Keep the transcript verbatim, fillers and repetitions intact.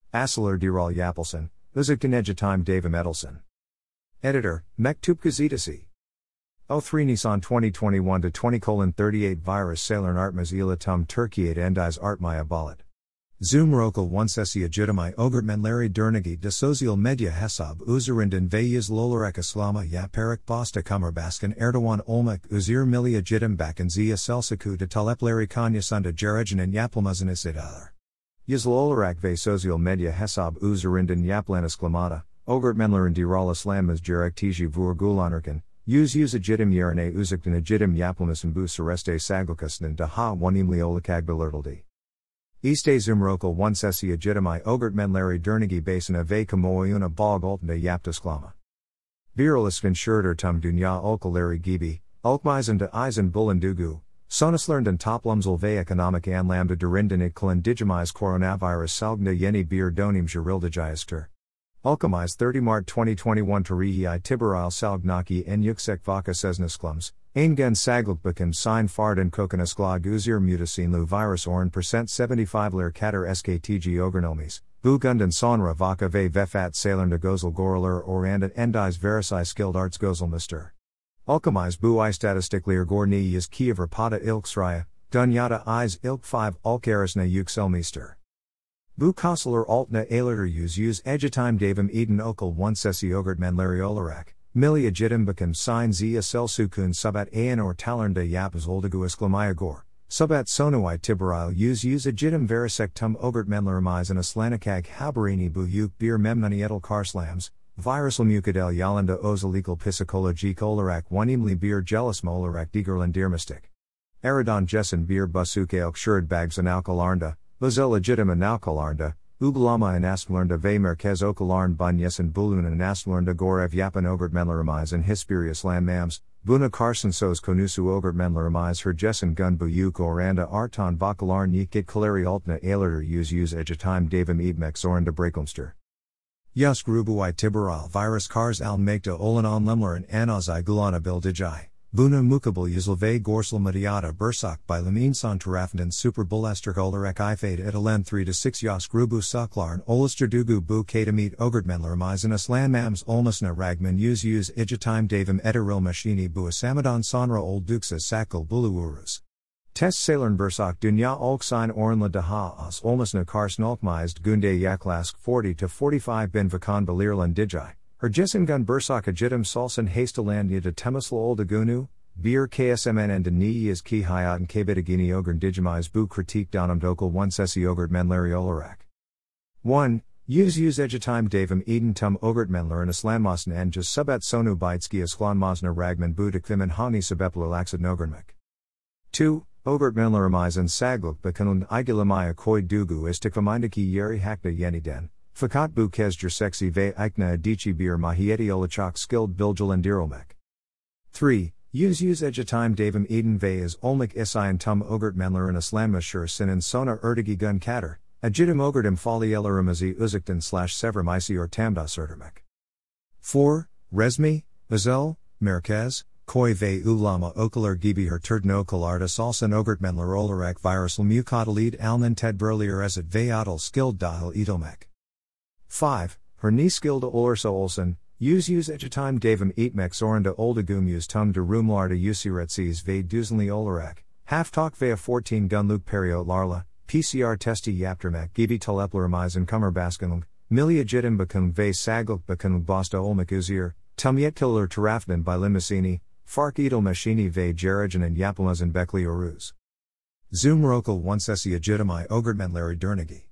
Asseler Diral Yapelson, Uzikten Egetime Davim Edelson. Editor, Mektup Gazetesi. oh three Nisan twenty twenty-one to twenty thirty-eight Virus Sailern Artmaz Ilatum Turkiyat Endiz Artmaya Balit. Zoom Rokal one sesi Ajitamai Ogertmenleri Dernigi de Sozial Medya Hesab Uzerinden ve Yizlolarek Islama Yaparik Basta Kummerbaskan Erdoğan Olmak Uzir Milli Ajitam Bakan Zia Selsiku de Talepleri Kanyasunda Jerejanin Yapılmazın Isidalar. Yizlolarek ve Sozial Medya Hesab Uzerinden Yaplan Isklamada, Ogertmenlerin Diral Islanmaz Jerek Tiji Vurgulanırken, Yüz yüz ajitim yerine uzaktan ajitim yapılmasın bu sureste saglukasının daha wanimli olakagbilirtildi. İşte Zumrokal one sesi ajitimai ogertmenleri dernigi basına ve kamuoyuna bağ altında yaptısklama. Viral isfinşurter tum dünya ülkeleri gibi, ülkemizde izin bulunduğu, sonuçlarından toplumsal ve ekonomik anlamda derinden etkilenen digimiz coronavirus salgında yeni bir dönem girildicaizdir. Ülkemiz thirty Mart twenty twenty-one tarihi itibarıyla salgnaki en yüksek vaka seznisklums, en sagluk bakım sign fardan kokonasklag uzir mutasinlu virus oran percent seventy-five'ler katar sktg ogernelmis, bu gundan sonra vaka ve vefat sailernde gözel goralar oranda endiz verisi skilled arts gözelmister. Ülkemiz bu istatistikler gorni is Kiev rapada ilk sraya, dunyada is ilk five ülkerisine yükselmister. Bu kasılar altına aylardır yüz yüz egetime davim eden okul one sesi ogertmenleri olarak, milli ajitim bakım sign zia selsukun subat ayan or talernde yapız oldugu isklamaya gor, subat sonu itibaril yüz yüz ajitim verisek tum ogertmenlerimiz and aslanikag haberini bu yük bir memnuniyetel karslams, virusal mukadel yalanda özellikle psikolojik olarak wanimli bir jelisma olarak digerlendirmistik. Aradan jessen bir busuke okşured bags analkalarnda, Özel legitim analkalarnda, uygulama anasmalarnda ve merkez okalarn bunyesin bulun anasmalarnda gorev yapan ogertmenlerimiz and hispirius landmams, buna karsan söz konusu ogertmenlerimiz herjesin gun bu yük oranda artan vakalarn yikit kaleri altına aylardır yüz yüz egetime davim edmek zorunda bırakılmıştır. Yus grubu itibaril virus kars almakta olan anlamların anazai gulana bildici. Buna mukabil yüzül ve gorsal medyada bursak by insan tarafından super bulastik olarak ifade edilen three to six yas grubu saklarn oluşturduğu bu katamit ogertmenlerimizin islanmams olmasına rağmen yüz yüz egetime davim edirilmeshini bu asamadan sonra oldukça sakal buluyoruz. Test sailern bursak dünya olksign oranla daha az olmasına karşın olkmizd günde yaklaşık forty to forty-five bin vakan belirlen dici. Herjesin gun bursak ajitim salsan hastalandia de temusla oldugunu, bir ksmn'de niyas ki hayatın kaybetagini ogern digimiz bu kritik donum dokal one sesi ogertmenleri olarak. one. Yüz yüz egetime davim eden tum ogertmenlerin islanmasın en just subat sonu bitski islanmasna ragman bu dikvimin hani sebeplerlaxid nogernmek. two. Ogertmenlerimizin sagluk bakanun igilamaya koy dugu istikvamindaki yeri hakna yeniden. Fakat bu kezdir seksi ve ikna adici bir mahiyeti olacak skilled bilgilendirolmek. three. Yüz yüz egetime davim eden ve is olmak isayan tum ogertmenlerin islanmasher sinin sona ertigi gun kater, ajitim ogertim faliyelerimizi uzaktan slash sevrimisi ortamda sertermek. four. Resmi, özel, merkez, koy ve ulama okalar gibi herturden okalarda salsan ogertmenler olarak virusal mukadalid alnen tedbirlier esit ve adil skilled dahil edilmek. five. Her ni skilled olursa olsun, yüz yüz egetime davim etmek zorunda oldugum yüz tum de rumlarda usiretsiz ve düzenli olarak, haftak veya fourteen gunluk periyotlarla, P C R testi yaptırmak gibi taleplerimizin kummerbaskanlık, milli ajitim bakım ve sagluk bakımlık basta olmak üzere, tum yetkililer tarafından bilinmesini, fark edilmeshini ve jerejanin yapılmazın bekliyoruz. Zoom rokal one sesi ajitimai ogertmenleri dernigi.